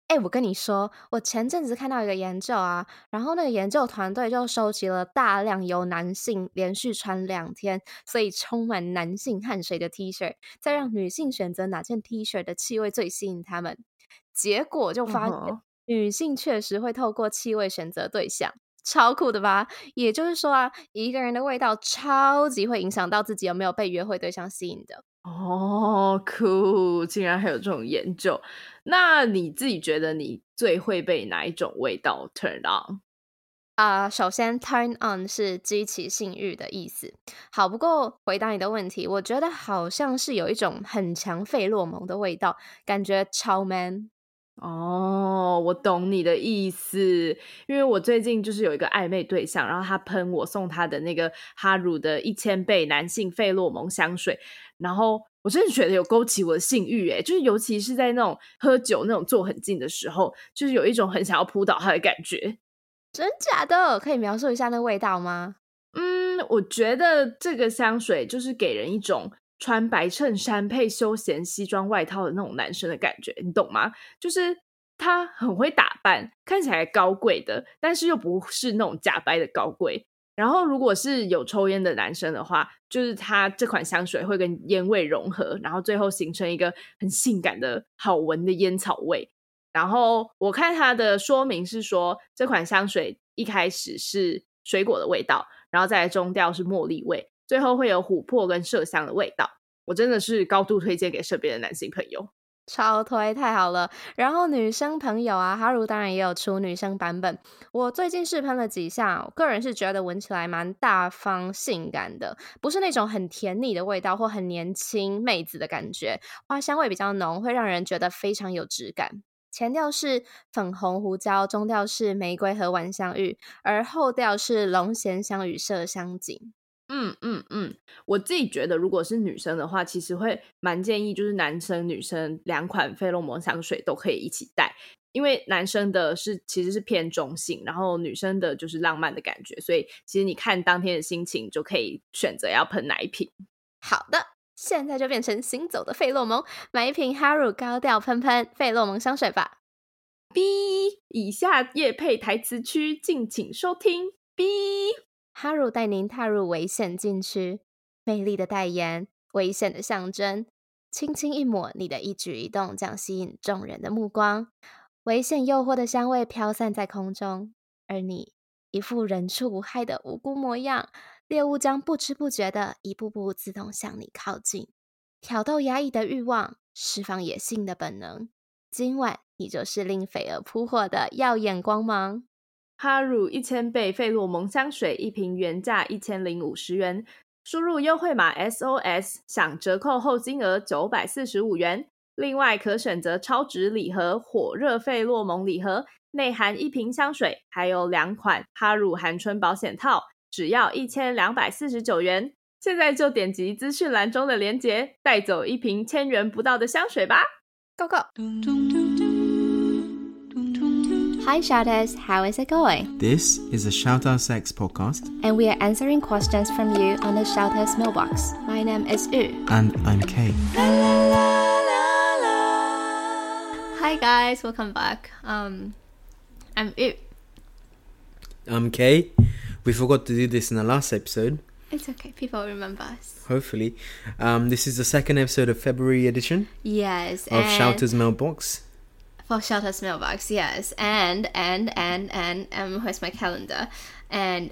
我跟你說，我前陣子看到一個研究啊，然後那個研究團隊就收集了大量由男性連續穿2天，所以充滿男性汗水的 T 恤，再讓女性選擇哪件 T 恤的氣味最吸引他們。結果就發現，女性確實會透過氣味選擇對象。超酷的吧？也就是說啊，一個人的味道超級會影響到自己有沒有被約會對象吸引的。 哦，酷！竟然還有這種研究。那你自己覺得你最會被哪一種味道 turn on？ 首先 turn on 是激起性慾的意思。好，不過回答你的問題，我覺得好像是有一種很強費洛蒙的味道，感覺超 man。 哦，我懂你的意思，因為我最近就是有一個曖昧對象，然後他噴我送他的那個哈乳的1000倍男性費洛蒙香水，然後我真的覺得有勾起我的性慾耶，就是尤其是在那種喝酒那種坐很近的時候，就是有一種很想要撲倒他的感覺。 真假的？可以描述一下那味道嗎？ 我覺得這個香水就是給人一種穿白襯衫配休閒西裝外套的那種男生的感覺，你懂嗎？就是他很會打扮，看起來高貴的，但是又不是那種假掰的高貴。然後如果是有抽菸的男生的話，就是他這款香水會跟菸味融合，然後最後形成一個很性感的好聞的菸草味。然後我看他的說明是說，這款香水一開始是水果的味道，然後再來中調是茉莉味，最後會有琥珀跟麝香的味道。我真的是高度推薦給身邊的男性朋友， 超推，太好了。然後女生朋友啊，哈乳當然也有出女生版本。我最近試噴了幾下，我個人是覺得聞起來蠻大方性感的，不是那種很甜膩的味道或很年輕妹子的感覺，花香味比較濃，會讓人覺得非常有質感。前調是粉紅胡椒，中調是玫瑰和晚香玉，而後調是龍涎香與麝香錦。 我自己覺得如果是女生的話，其實會蠻建議就是男生女生2款費洛蒙香水都可以一起帶，因為男生的其實是偏中性，然後女生的就是浪漫的感覺，所以其實你看當天的心情就可以選擇要噴哪一瓶。 好的，現在就變成行走的費洛蒙，買一瓶哈乳高調噴噴費洛蒙香水吧。 B 以下業配台詞區敬請收聽。 B 哈乳帶您踏入危險禁區，魅力的代言，危險的象徵，輕輕一抹，你的一舉一動將吸引眾人的目光，危險誘惑的香味飄散在空中，而你一副人畜無害的無辜模樣，獵物將不知不覺的一步步自動向你靠近，挑逗壓抑的慾望，釋放野性的本能，今晚你就是令匪兒撲火的耀眼光芒。 哈乳1000倍費洛蒙香水一瓶原價1050元，輸入優惠碼 SOS 享折扣後金額945元。另外可選擇超值禮盒火熱費洛蒙禮盒，內含1瓶香水，還有2款哈乳含春保險套，只要1249元。現在就點擊資訊欄中的連結，帶走一瓶1000元不到的香水吧。 Go go! Hi Shouters, how is it going? This is a Shout Out Sex podcast, and we are answering questions from you on the Shouters mailbox. My name is Yu. and I'm Kay. Hi guys, welcome back. I'm Yu. I'm Kay. We forgot to do this in the last episode. It's okay, people remember us. Hopefully. This is the second episode of February edition Yes, of Shouters Mailbox. For Shouters mailbox, yes. And where's my calendar? And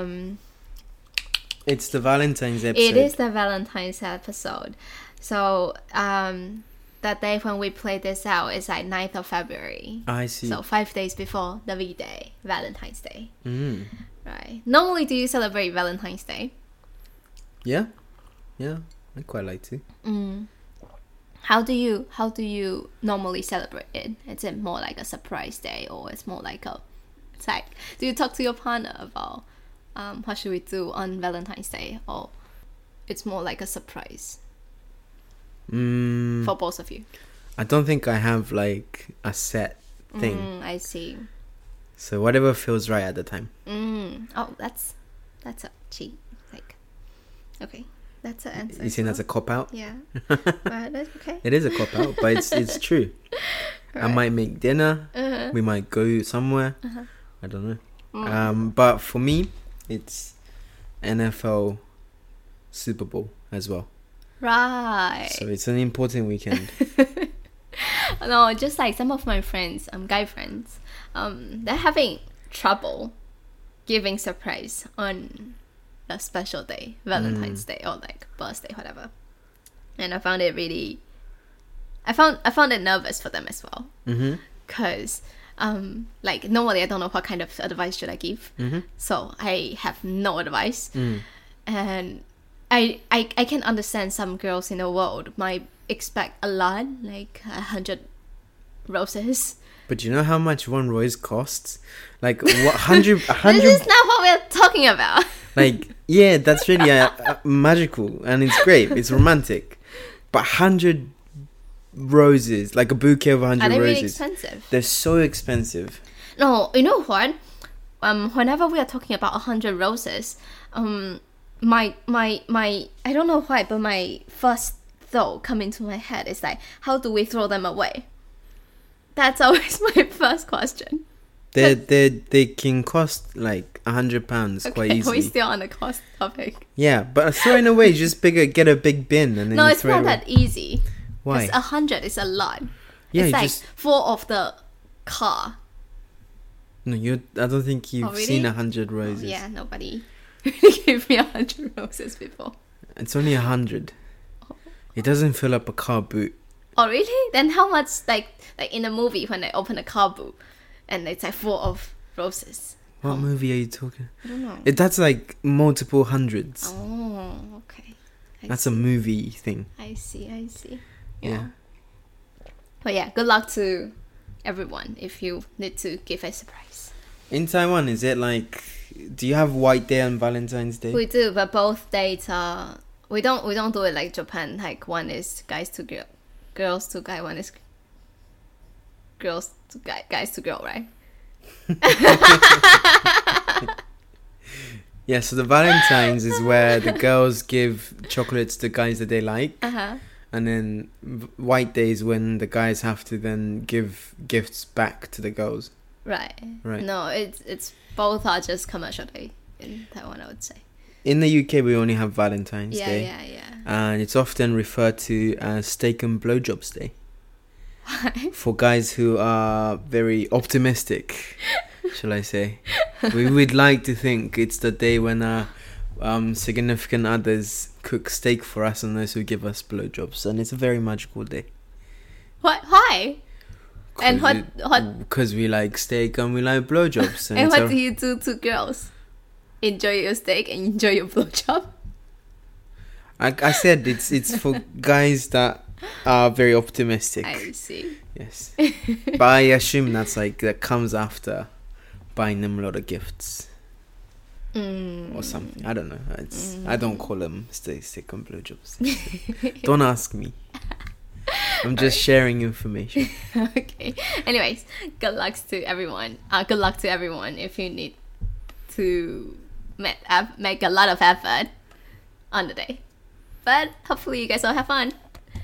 It's the Valentine's episode. it is the Valentine's episode. So that day when we play this out is like 9th of February. I see. So 5 days before the V-Day, Valentine's Day. Right. Normally, do you celebrate Valentine's Day? Yeah, I quite like to. How do you normally celebrate it? Is it more like a surprise day, or it's more like it's like, do you talk to your partner about what should we do on Valentine's Day, or it's more like a surprise for both of you? I don't think I have like a set thing. I see. So whatever feels right at the time. Oh, that's a cheat. Like, okay, that's an answer. You think that's a cop out? Yeah, but that's okay. It is a cop out, but it's true. I might make dinner. We might go somewhere. I don't know. But for me, it's NFL Super Bowl as well. Right. So it's an important weekend. No, just like some of my friends, guy friends, they're having trouble giving surprise on a special day, Valentine's Day or like birthday, whatever. And I found it really, I found it nervous for them as well. Because like normally I don't know what kind of advice should I give. So I have no advice. And I can understand some girls in the world might expect a lot, like 100 roses. But you know how much one rose costs? Like 100. This is not what we're talking about. Like, yeah, that's really magical and it's great. It's romantic. But 100 roses, like a bouquet of 100 Are they roses. really expensive? They're so expensive. No, you know what? Whenever we are talking about 100 roses, my I don't know why, but my first thought coming to my head is like, how do we throw them away? That's always my first question. They can cost like £100 quite Okay, easily. we're still on the cost topic. Yeah, but throwing away, just get a big bin and then No, you it's throw not it away. that easy. Why? 100 is a lot. Yeah, it's you like just 4 of the car. no. I don't think you've really? seen 100 roses. Oh, yeah, nobody really gave me 100 roses before. It's only 100. It doesn't fill up a car boot. Oh really? Then how much like in a movie when they open a car boot and it's like 4 of roses? What movie are you talking? I don't know. That's like multiple hundreds. Oh, okay. That's a movie thing. I see. Yeah. But yeah, good luck to everyone if you need to give a surprise. In Taiwan, is it like, do you have White Day and Valentine's Day? We do, but both dates are we don't do it like Japan. Like one is guys to girl, girls to guy. One is girls to guy, guys to girl, right? Yeah, so the Valentine's is where the girls give chocolates to guys that they like. And then White Day is when the guys have to then give gifts back to the girls. Right. No, it's both are just commercial day in Taiwan, I would say. In the UK, we only have Valentine's Day. Yeah. And it's often referred to as Steak and Blowjobs Day. Why? For guys who are very optimistic, shall I say. We would like to think it's the day when our significant others cook steak for us and those who give us blowjobs. And it's a very magical day. What? Why? And what? Because we like steak and we like blowjobs. And what do you do to girls? Enjoy your steak and enjoy your blowjob? I said it's for guys that are very optimistic. I see. Yes. But I assume that comes after buying them a lot of gifts. Or something. I don't know. I don't call them steak and blowjobs. Don't ask me. I'm just sharing information. Okay. Anyways, good luck to everyone. Good luck to everyone if you need to make a lot of effort on the day. But hopefully you guys all have fun.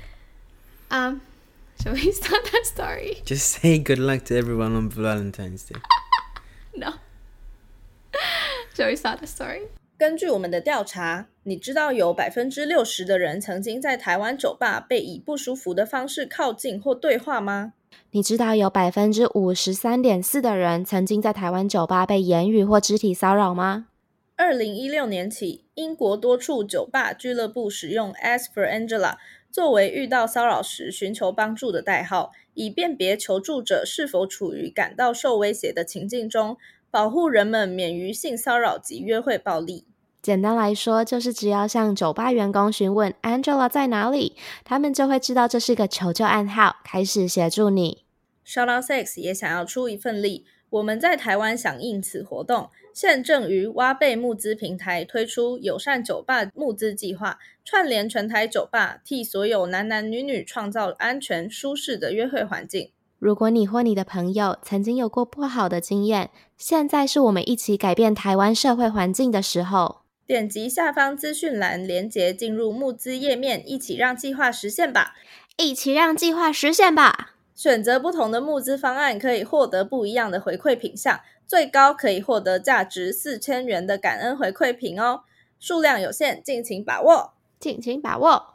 Shall we start that story? Just say good luck to everyone on Valentine's Day. No. Shall we start the story? 根据我们的調查，你知道有 60% 的人曾經在台灣酒吧被以不舒服的方式靠近或對話嗎？ 你知道有 53.4% 的人曾經在台灣酒吧被言語或肢體騷擾嗎？2016 年起，英國多處酒吧俱樂部使用 Ask for Angela 作為遇到騷擾時尋求幫助的代號，以辨別求助者是否處於感到受威脅的情境中，保護人們免於性騷擾及約會暴力。 簡單來說，就是只要向酒吧員工詢問 Angela 在哪裡，他們就會知道這是個求救暗號，開始協助你。 Shout Out Sex 也想要出一份力，我們在台灣響應此活動，現正於挖貝募資平台推出友善酒吧募資計劃，串聯全台酒吧，替所有男男女女創造安全舒適的約會環境。 如果你或你的朋友曾經有過不好的經驗，現在是我們一起改變台灣社會環境的時候。 點擊下方資訊欄連結進入募資頁面，一起讓計劃實現吧！ 一起讓計劃實現吧！ 選擇不同的募資方案可以獲得不一樣的回饋品項，最高可以獲得價值4000元的感恩回饋品哦，數量有限，敬請把握。 敬請把握。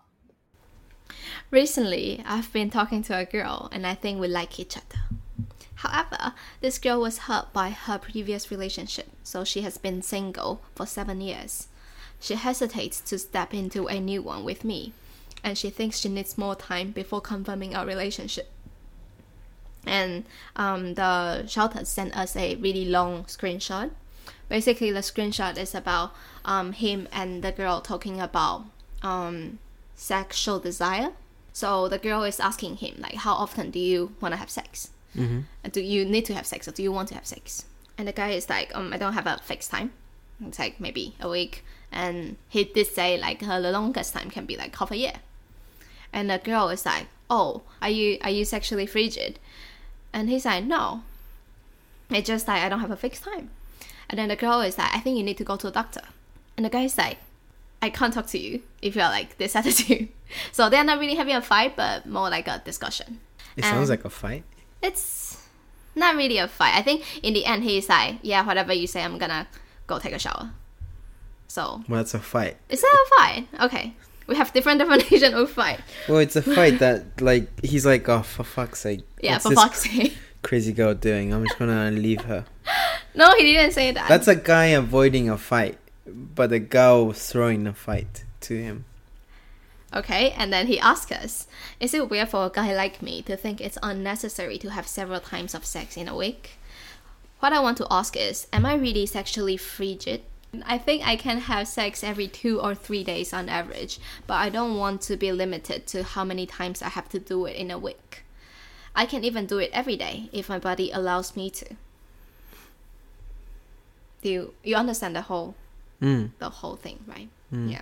Recently, I've been talking to a girl and I think we like each other. However, this girl was hurt by her previous relationship, so she has been single for 7 years. She hesitates to step into a new one with me, and she thinks she needs more time before confirming our relationship. And the shelter sent us a really long screenshot. Basically, the screenshot is about him and the girl talking about sexual desire. So the girl is asking him, like, how often do you want to have sex? Do you need to have sex, or do you want to have sex? And the guy is like, I don't have a fixed time. It's like maybe a week. And he did say like the longest time can be like half a year. And the girl is like, oh, are you sexually frigid? And he's like, no, it's just like I don't have a fixed time. And then the girl is like, I think you need to go to a doctor. And the guy is like, I can't talk to you if you're like this attitude. So they're not really having a fight, but more like a discussion. It sounds like a fight. It's not really a fight. I think in the end he's like, yeah, whatever you say, I'm gonna go take a shower. So Well, it's a fight. Is that a fight? Okay. We have different definition of fight. Well, it's a fight that, like, he's like, oh, for fuck's sake. Yeah, what's for this fuck's sake. crazy girl doing? I'm just gonna leave her. No, he didn't say that. That's a guy avoiding a fight, but the girl was throwing a fight to him. Okay, and then he asked us, is it weird for a guy like me to think it's unnecessary to have several times of sex in a week? What I want to ask is, am I really sexually frigid? I think I can have sex every 2 or 3 days on average, but I don't want to be limited to how many times I have to do it in a week. I can even do it every day if my body allows me to. Do you understand the whole thing, right? Yeah.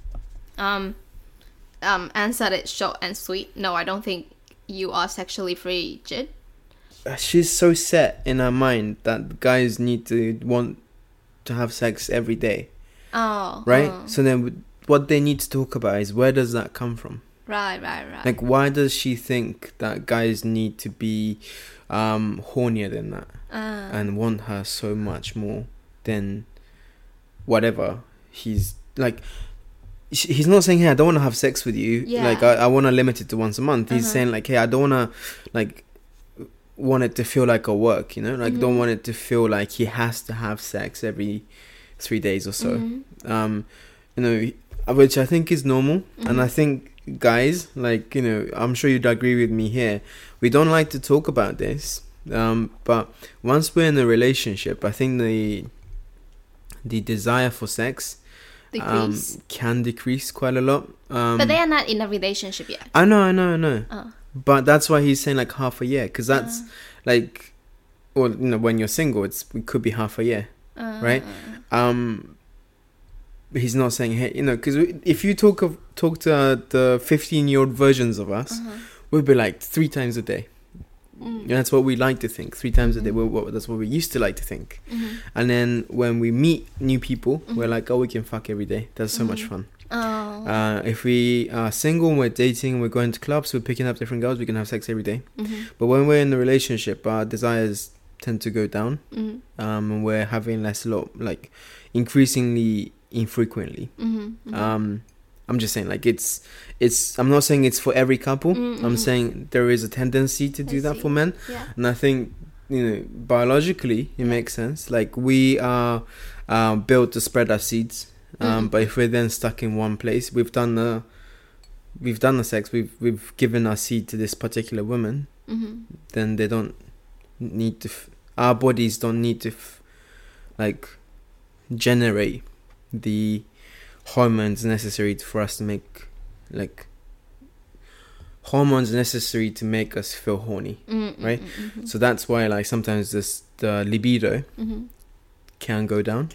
Answered it short and sweet. No, I don't think you are sexually frigid. She's so set in her mind that guys need to want to have sex every day. Oh. Right? So then what they need to talk about is, where does that come from? Right. Like, why does she think that guys need to be hornier than that and want her so much more than whatever he's like? He's not saying, hey, I don't want to have sex with you. Yeah. Like, I want to limit it to once a month. He's saying, like, hey, I don't want to, like, want it to feel like a work, you know? Like, don't want it to feel like he has to have sex every 3 days or so. You know, which I think is normal. And I think guys, like, you know, I'm sure you'd agree with me here. We don't like to talk about this. But once we're in a relationship, I think the desire for sex can decrease quite a lot. But they are not in a relationship yet. I know. Oh. But that's why he's saying like half a year, because that's like, well, you know, when you're single, it could be half a year, right? He's not saying, hey, you know, because if you talk to the 15-year-old versions of us, we'd be like 3 times a day. And that's what we like to think. 3 times a day. That's what we used to like to think. And then when we meet new people, we're like, oh, we can fuck every day. That's so much fun. If we are single, we're dating, we're going to clubs, we're picking up different girls, we can have sex every day. But when we're in a relationship, our desires tend to go down. And we're having like increasingly infrequently. I'm just saying, like, it's I'm not saying it's for every couple. I'm saying there is a tendency to do that for men. And I think, you know, biologically it makes sense. Like, we are built to spread our seeds. But if we're then stuck in one place, we've done the sex, we've given our seed to this particular woman, then they don't need to our bodies don't need to like generate the hormones necessary for us to make, like, hormones necessary to make us feel horny, right? So that's why, like, sometimes the libido can go down.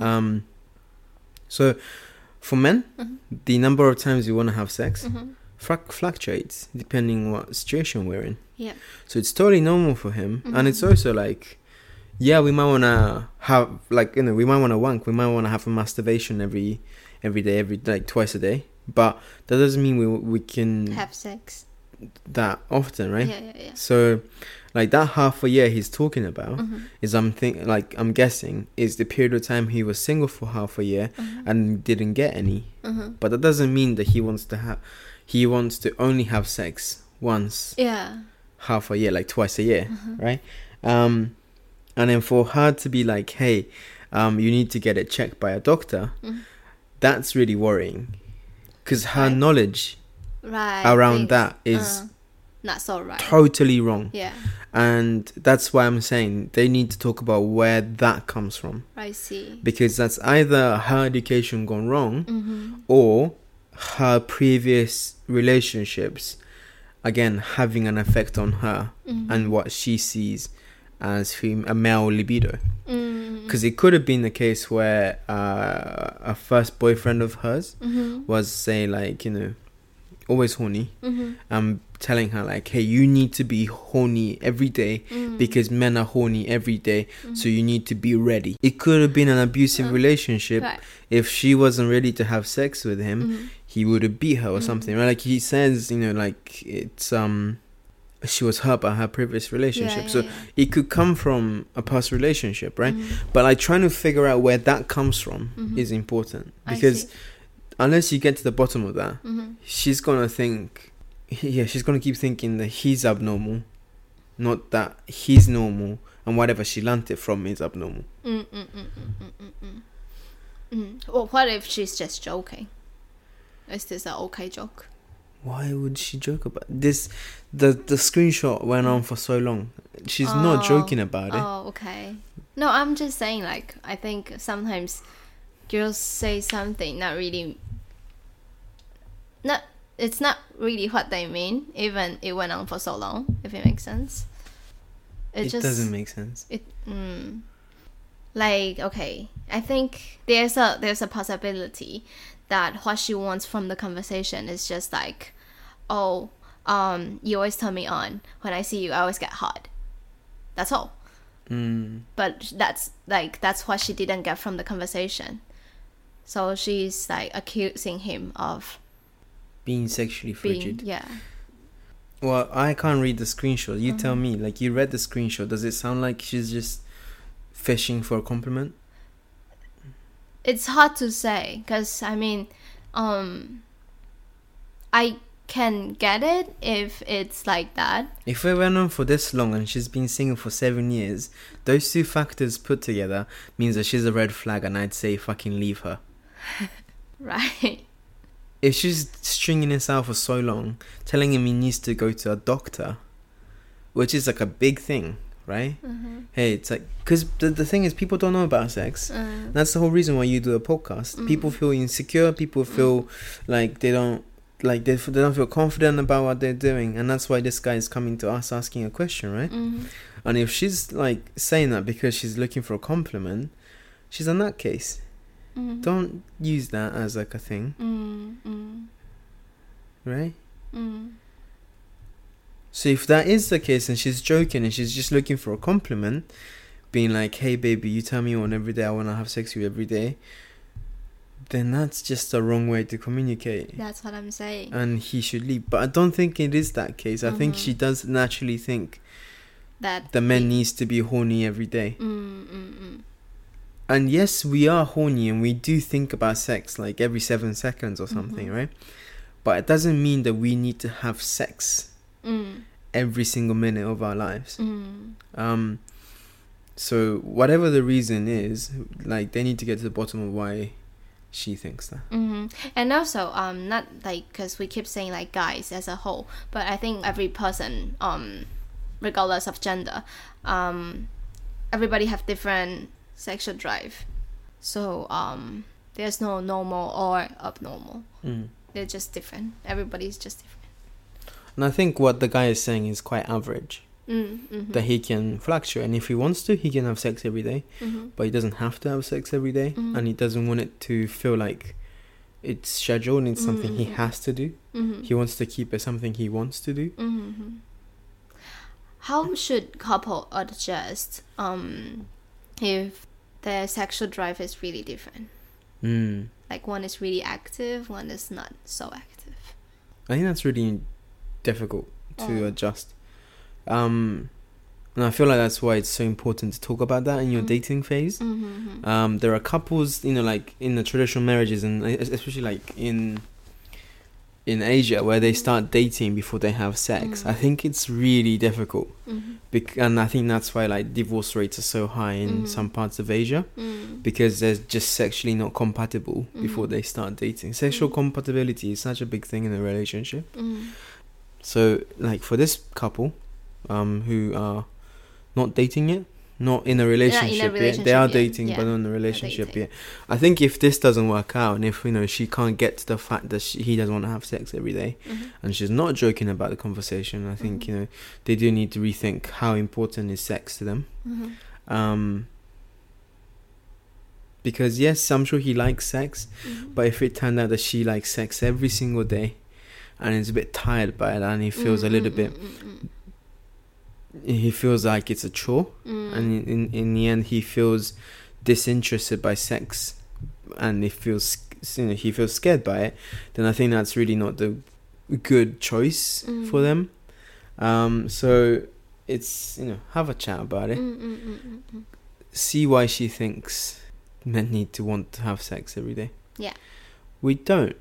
So for men, the number of times we want to have sex fluctuates depending what situation we're in. So it's totally normal for him. And it's also like, yeah, we might want to have, like, you know, we might want to wank, we might want to have a masturbation every day, like twice a day, but that doesn't mean we can have sex. that often, right? Yeah. So like that half a year he's talking about is I'm guessing is the period of time he was single for half a year and didn't get any. But that doesn't mean that he wants to only have sex once half a year, like twice a year, right? And then for her to be like, hey, you need to get it checked by a doctor, that's really worrying, because her knowledge around that is not so right, totally wrong. Yeah. And that's why I'm saying they need to talk about where that comes from. I see. Because that's either her education gone wrong or her previous relationships, again, having an effect on her and what she sees as a male libido. Because it could have been the case where a first boyfriend of hers was, say, like, always horny, telling her like, hey, you need to be horny every day because men are horny every day, so you need to be ready. It could have been an abusive relationship. If she wasn't ready to have sex with him, he would have beat her or something, right? Like he says, like it's she was hurt by her previous relationship, so it could come from a past relationship, right? But like trying to figure out where that comes from is important, because unless you get to the bottom of that, she's gonna keep thinking that he's abnormal, not that he's normal, and whatever she learnt it from is abnormal. Well, what if she's just joking? Is this an okay joke? Why would she joke about this? The screenshot went on for so long. She's not joking about it. Oh, okay. No, I'm just saying, like, I think sometimes girls say something it's not really what they mean, even it went on for so long, if it makes sense. It doesn't make sense. Like, okay, I think there's a possibility that what she wants from the conversation is just like, oh, you always turn me on. When I see you, I always get hot. That's all. But that's what she didn't get from the conversation. So she's like accusing him of being sexually frigid. Yeah. Well, I can't read the screenshot. You tell me. Like, you read the screenshot. Does it sound like she's just fishing for a compliment? It's hard to say, because I mean, I can get it if it's like that. If we went on for this long and she's been single for 7 years, those two factors put together means that she's a red flag, and I'd say fucking leave her. Right. If she's stringing this out for so long, telling him he needs to go to a doctor, which is like a big thing, right? Hey, it's like, because the thing is, people don't know about sex. That's the whole reason why you do a podcast. People feel insecure. People feel like they don't feel confident about what they're doing, and that's why this guy is coming to us asking a question, right? And if she's like saying that because she's looking for a compliment, she's a nutcase. Don't use that as like a thing, right? So if that is the case and she's joking and she's just looking for a compliment, being like, hey baby, you tell me you want every day, I want to have sex with you every day, then that's just a wrong way to communicate. That's what I'm saying. And he should leave. But I don't think it is that case. I think she does naturally think that the man needs to be horny every day. And yes, we are horny and we do think about sex like every 7 seconds or something, right? But it doesn't mean that we need to have sex every single minute of our lives. So whatever the reason is, like, they need to get to the bottom of why she thinks that. And also, not like, because we keep saying like guys as a whole, but I think every person, regardless of gender, everybody have different sexual drive. So there's no normal or abnormal. They're just different. Everybody's just different. And I think what the guy is saying is quite average. That he can fluctuate, and if he wants to, he can have sex every day, but he doesn't have to have sex every day, and he doesn't want it to feel like it's scheduled and it's something he has to do. He wants to keep it something he wants to do. How should couple adjust if their sexual drive is really different? Like, one is really active, one is not so active. I think that's really difficult to adjust. And I feel like that's why it's so important to talk about that in your dating phase. There are couples, like in the traditional marriages, and especially like in Asia, where they start dating before they have sex. I think it's really difficult, and I think that's why like divorce rates are so high in some parts of Asia, because they're just sexually not compatible before they start dating. Sexual compatibility is such a big thing in a relationship. So like for this couple who are not dating yet, not in a relationship yet, they are dating but not in a relationship yet. I think if this doesn't work out, and if she can't get to the fact that he doesn't want to have sex every day, and she's not joking about the conversation, I think they do need to rethink how important is sex to them. Because yes, I'm sure he likes sex, but if it turned out that she likes sex every single day and is a bit tired by it, and he feels a little bit he feels like it's a chore, and in the end he feels disinterested by sex, and he feels scared by it, then I think that's really not the good choice for them. So it's have a chat about it, see why she thinks men need to want to have sex every day. We don't.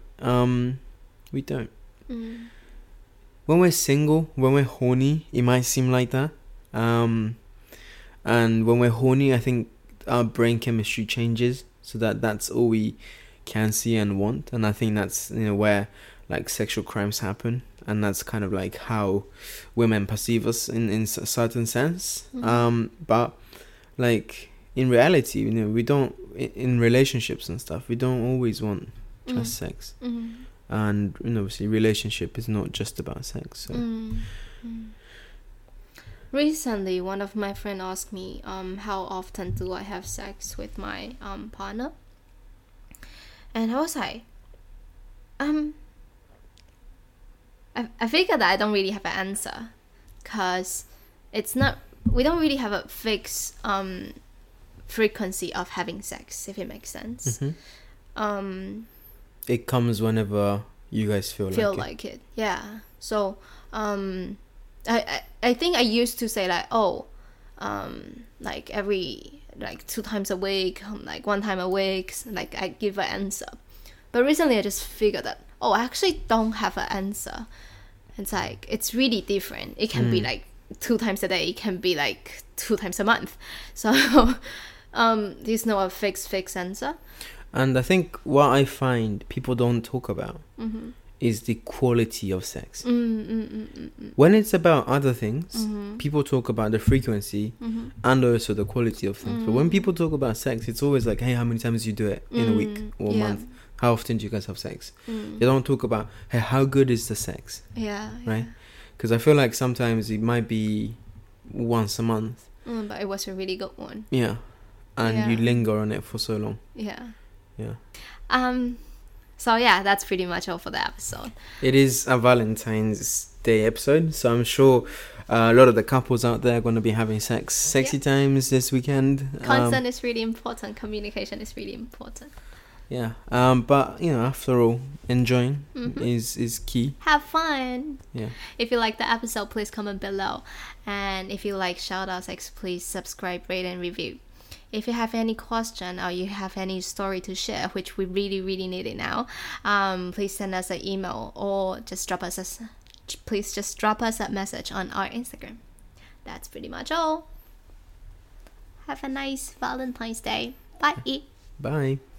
When we're single, when we're horny, it might seem like that. And when we're horny, I think our brain chemistry changes, so that's all we can see and want. And I think that's where like sexual crimes happen, and that's kind of like how women perceive us in a certain sense. But like in reality, we don't, in relationships and stuff, we don't always want just sex. And obviously relationship is not just about sex. So. Recently, one of my friends asked me how often do I have sex with my partner, and I was like, I figured that I don't really have an answer, because we don't really have a fixed frequency of having sex, if it makes sense. It comes whenever you guys feel like it. Yeah. So I think I used to say like, like every 2 times a week, like 1 time a week, like I give an answer. But recently I just figured that I actually don't have an answer. It's like it's really different. It can be like 2 times a day, it can be like 2 times a month. So there's no fixed answer. And I think what I find people don't talk about is the quality of sex. When it's about other things, people talk about the frequency and also the quality of things. But when people talk about sex, it's always like, hey, how many times do you do it in a week or a month? How often do you guys have sex? They don't talk about, hey, how good is the sex? Right? Because I feel like sometimes it might be once a month. But it was a really good one. Yeah. And you linger on it for so long. Yeah. So yeah, that's pretty much all for the episode. It is a Valentine's Day episode, so I'm sure a lot of the couples out there are going to be having sexy times this weekend. Consent is really important. Communication is really important. Yeah, but after all, enjoying is key. Have fun. Yeah. If you like the episode, please comment below, and if you like shoutouts, please subscribe, rate, and review. If you have any question or you have any story to share, which we really, really need it now, please send us an email or just drop us a message on our Instagram. That's pretty much all. Have a nice Valentine's Day. Bye. Bye.